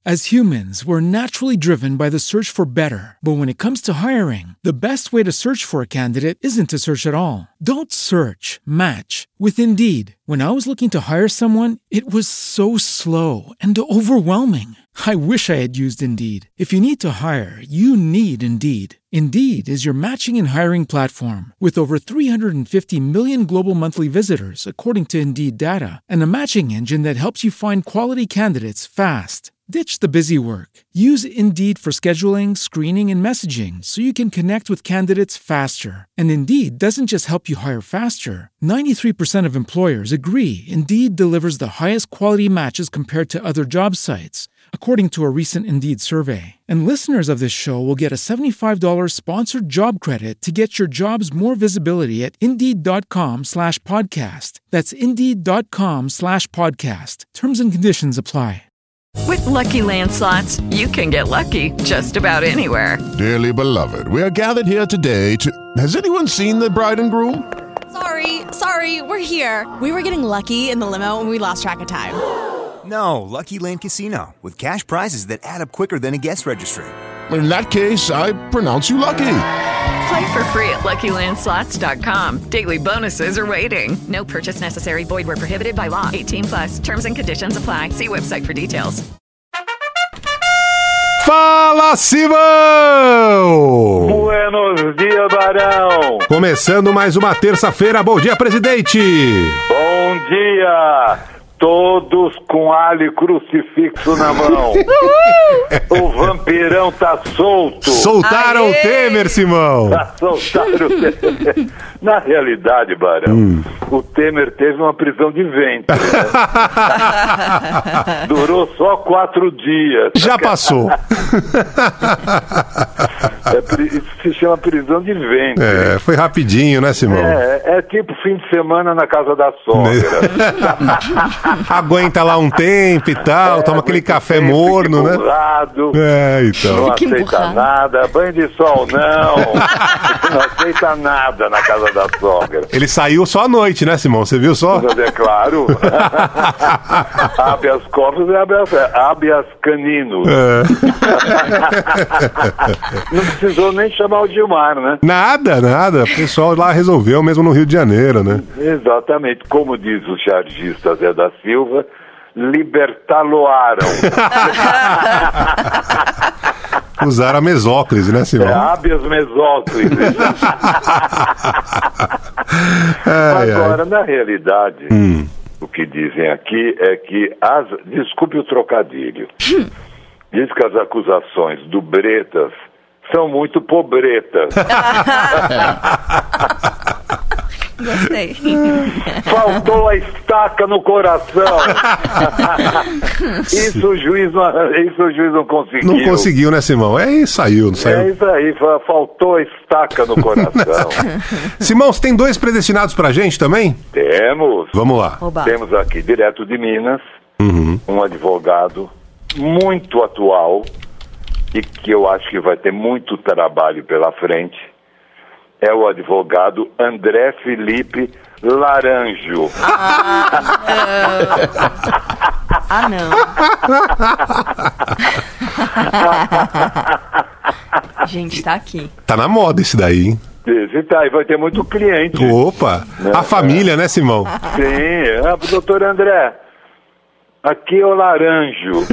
As humans, we're naturally driven by the search for better. But when it comes to hiring, the best way to search for a candidate isn't to search at all. Don't search, match with Indeed. When I was looking to hire someone, it was so slow and overwhelming. I wish I had used Indeed. If you need to hire, you need Indeed. Indeed is your matching and hiring platform with over 350 million global monthly visitors, according to Indeed data, and a matching engine that helps you find quality candidates fast. Ditch the busy work. Use Indeed for scheduling, screening, and messaging so you can connect with candidates faster. And Indeed doesn't just help you hire faster. 93% of employers agree Indeed delivers the highest quality matches compared to other job sites, according to a recent Indeed survey. And listeners of this show will get a $75 sponsored job credit to get your jobs more visibility at Indeed.com/podcast. That's Indeed.com/podcast. Terms and conditions apply. With Lucky Land Slots, you can get lucky just about anywhere. Dearly beloved, we are gathered here today to... Has anyone seen the bride and groom? Sorry, we're here. We were getting lucky in the limo and we lost track of time. No, Lucky Land Casino, with cash prizes that add up quicker than a guest registry. In that case, I pronounce you lucky. Play for free at LuckyLandSlots.com. Daily bonuses are waiting. No purchase necessary. Void where prohibited by law. 18+. Terms and conditions apply. See website for details. Fala, Simão! Buenos dias, Barão! Começando mais uma terça-feira. Bom dia, presidente! Bom dia! Todos com alho crucifixo na mão. O vampirão tá solto. Soltaram o Temer, Simão. Soltaram o Temer. Na realidade, Barão, o Temer teve uma prisão de ventre. Né? Durou só 4 dias. Já passou. Isso se chama prisão de ventre. É, foi rapidinho, né, Simão? É tipo fim de semana na casa da sogra. Aguenta lá um tempo e tal, toma aquele café morno, né? Então. Não aceita nada, banho de sol não aceita nada na casa da sogra. Ele saiu só à noite, né, Simão? Você viu só? É claro. Habeas corpus e habeas caninos. Não precisou nem chamar o Gilmar, né? Nada. O pessoal lá resolveu, mesmo no Rio de Janeiro, né? Exatamente. Como diz o chargista Zé da Silva, libertá-lo-aram. Usaram a mesóclise, né, Simão? Habeas mesóclise. Agora, na realidade, o que dizem aqui é que desculpe o trocadilho. Diz que as acusações do Bretas são muito pobretas. Gostei. Faltou a estaca no coração. Isso o juiz não conseguiu. Não conseguiu, né, Simão? Saiu. É isso aí, faltou a estaca no coração. Simão, você tem 2 predestinados pra gente também? Temos. Vamos lá. Oba. Temos aqui, direto de Minas, um advogado muito atual e que eu acho que vai ter muito trabalho pela frente. É o advogado André Felipe Laranjo. Não. Gente, tá aqui. Tá na moda esse daí, hein? Esse tá aí, vai ter muito cliente. Opa! A família, né, Simão? Sim, doutor André. Aqui é o Laranjo.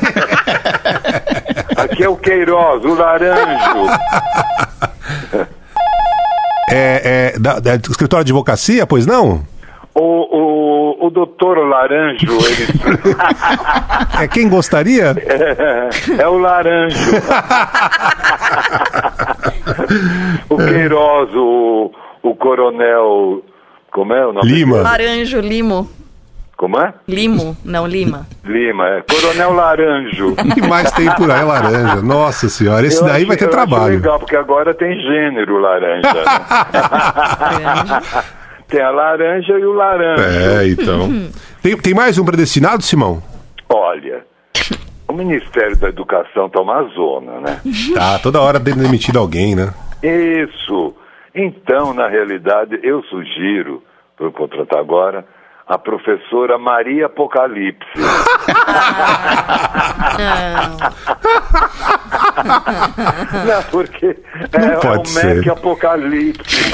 Aqui é o Queiroz, o Laranjo. Da escritório de advocacia, pois não? O doutor Laranjo, ele... Quem gostaria? É o Laranjo. O Queiroz, o coronel... Como é o nome? Lima. Laranjo, Limo. Como é? Limo, não, Lima. Lima, Coronel Laranjo. O que mais tem por aí, laranja? Nossa senhora, esse daí vai ter trabalho. Acho legal, porque agora tem gênero laranja. Né? Tem a laranja e o laranja. Então. Tem mais um predestinado, Simão? Olha, o Ministério da Educação tá uma zona, né? Tá, toda hora tem demitido alguém, né? Isso. Então, na realidade, eu sugiro, vou contratar agora, a professora Maria Apocalipse. Não, porque Não pode ser. Mac Apocalipse.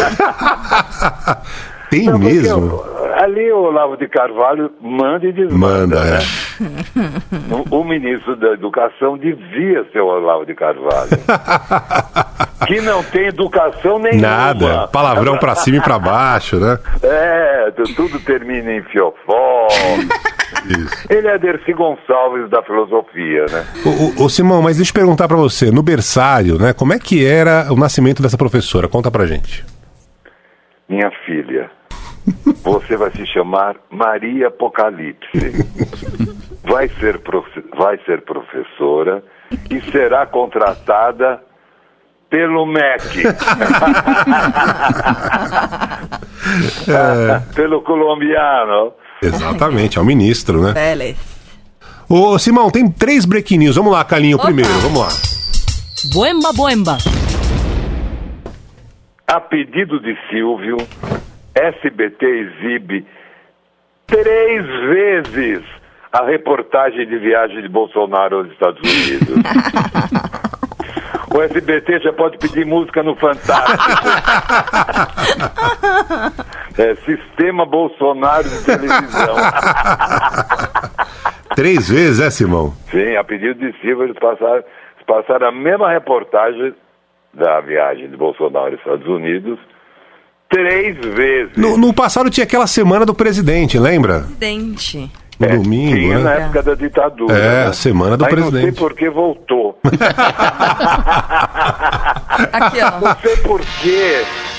Tem Não, mesmo? Ali o Olavo de Carvalho manda e desmanda. Manda, né? O ministro da Educação devia ser o Olavo de Carvalho. Que não tem educação nenhuma. Nada. Palavrão pra cima e pra baixo, né? Tudo termina em fiofó. Isso. Ele é Dercy Gonçalves da filosofia, né? Ô Simão, mas deixa eu perguntar pra você, no berçário, né? Como é que era o nascimento dessa professora? Conta pra gente. Minha filha, você vai se chamar Maria Apocalipse. Vai ser professora e será contratada pelo MEC. Pelo colombiano. Exatamente, é o ministro, né? Vélez. Ô Simão, tem 3 break news. Vamos lá, Calinho, primeiro, vamos lá. Boemba, boemba. A pedido de Silvio, SBT exibe 3 vezes a reportagem de viagem de Bolsonaro aos Estados Unidos. O SBT já pode pedir música no Fantástico. Sistema Bolsonaro de televisão. 3 vezes, Simão? Sim, a pedido de Silvio, eles passaram a mesma reportagem da viagem de Bolsonaro aos Estados Unidos 3 vezes. No passado tinha aquela semana do presidente, lembra? Presidente. No domingo, tinha, né? na época da ditadura. É, né? a semana do Aí presidente. Não sei por que voltou. Aqui, ó. Não sei por quê.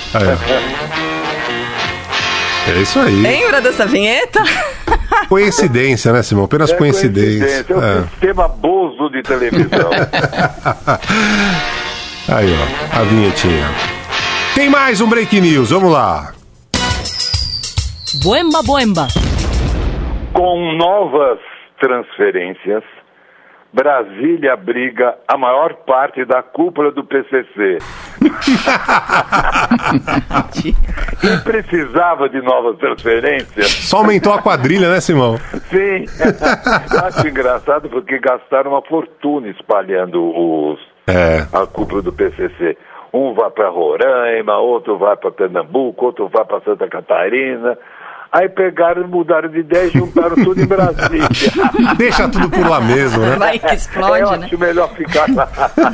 É isso aí. Lembra dessa vinheta? Coincidência, né, Simão? Apenas coincidência. É um sistema Bozo de televisão. Aí, ó, a vinhetinha. Tem mais um break news, vamos lá. Boemba, boemba. Com novas transferências, Brasília abriga a maior parte da cúpula do PCC. E precisava de novas transferências. Só aumentou a quadrilha, né, Simão? Sim. Eu acho engraçado porque gastaram uma fortuna espalhando a cúpula do PCC. Um vai para Roraima, outro vai para Pernambuco, outro vai para Santa Catarina. Aí pegaram, mudaram de ideia e juntaram tudo em Brasília. Deixa tudo por lá mesmo, né? Vai que explode, Eu né? acho melhor ficar lá.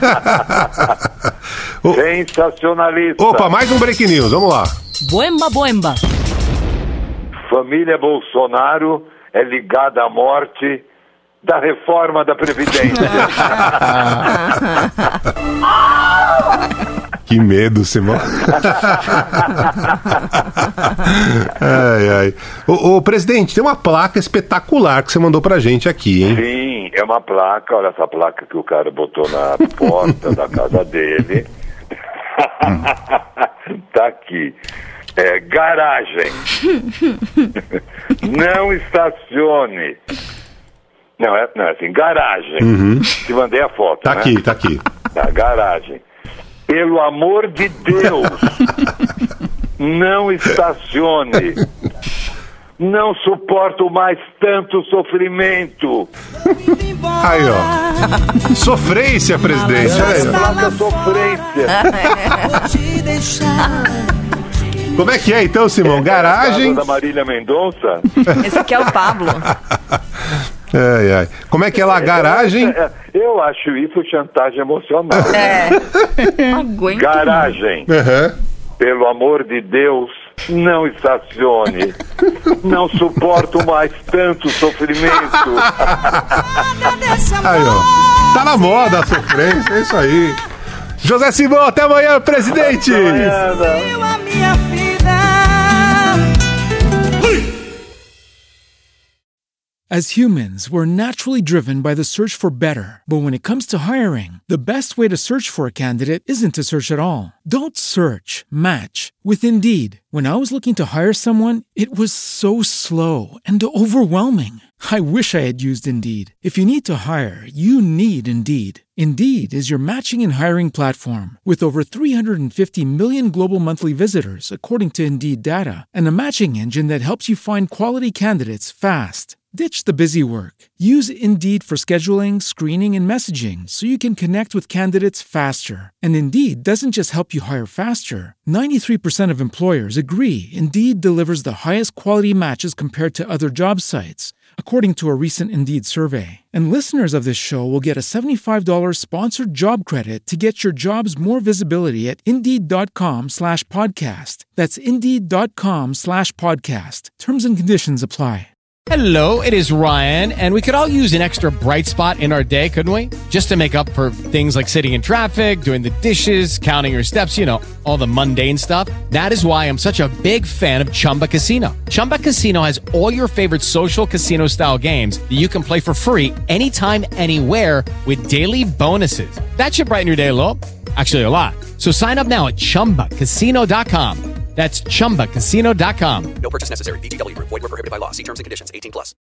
Sensacionalista. Opa, mais um break news, vamos lá. Boemba, boemba. Família Bolsonaro é ligada à morte da reforma da Previdência. Que medo, Simão. Ai, ai. Ô, presidente, tem uma placa espetacular que você mandou pra gente aqui, hein? Sim, é uma placa, olha essa placa que o cara botou na porta da casa dele. Tá aqui. Garagem. Não estacione. Não, é assim, garagem. Te mandei a foto, Tá né? aqui, tá aqui. Da garagem. Pelo amor de Deus, não estacione. Não suporto mais tanto sofrimento. Aí, ó. Sofrência, presidente. Olha aí, ó. Placa sofrência. Como é que é então, Simão? Garagem. Da Marília Mendonça. Esse aqui é o Pablo. Ai, ai. Como é que é lá? Garagem. Eu acho isso chantagem emocional. Não aguento. Garagem. Pelo amor de Deus, não estacione. Não suporto mais tanto sofrimento. Aí, ó. Tá na moda a sofrência, é isso aí. José Simão, até amanhã, presidente! As humans, we're naturally driven by the search for better. But when it comes to hiring, the best way to search for a candidate isn't to search at all. Don't search, match with Indeed. When I was looking to hire someone, it was so slow and overwhelming. I wish I had used Indeed. If you need to hire, you need Indeed. Indeed is your matching and hiring platform with over 350 million global monthly visitors, according to Indeed data, and a matching engine that helps you find quality candidates fast. Ditch the busy work. Use Indeed for scheduling, screening, and messaging so you can connect with candidates faster. And Indeed doesn't just help you hire faster. 93% of employers agree Indeed delivers the highest quality matches compared to other job sites, according to a recent Indeed survey. And listeners of this show will get a $75 sponsored job credit to get your jobs more visibility at Indeed.com/podcast. That's Indeed.com/podcast. Terms and conditions apply. Hello, it is Ryan, and we could all use an extra bright spot in our day, couldn't we? Just to make up for things like sitting in traffic, doing the dishes, counting your steps, you know, all the mundane stuff. That is why I'm such a big fan of Chumba Casino. Chumba Casino has all your favorite social casino-style games that you can play for free anytime, anywhere with daily bonuses. That should brighten your day a little. Actually, a lot. So sign up now at ChumbaCasino.com. That's ChumbaCasino.com. No purchase necessary. VGW Group. Void where prohibited by law. See terms and conditions. 18+.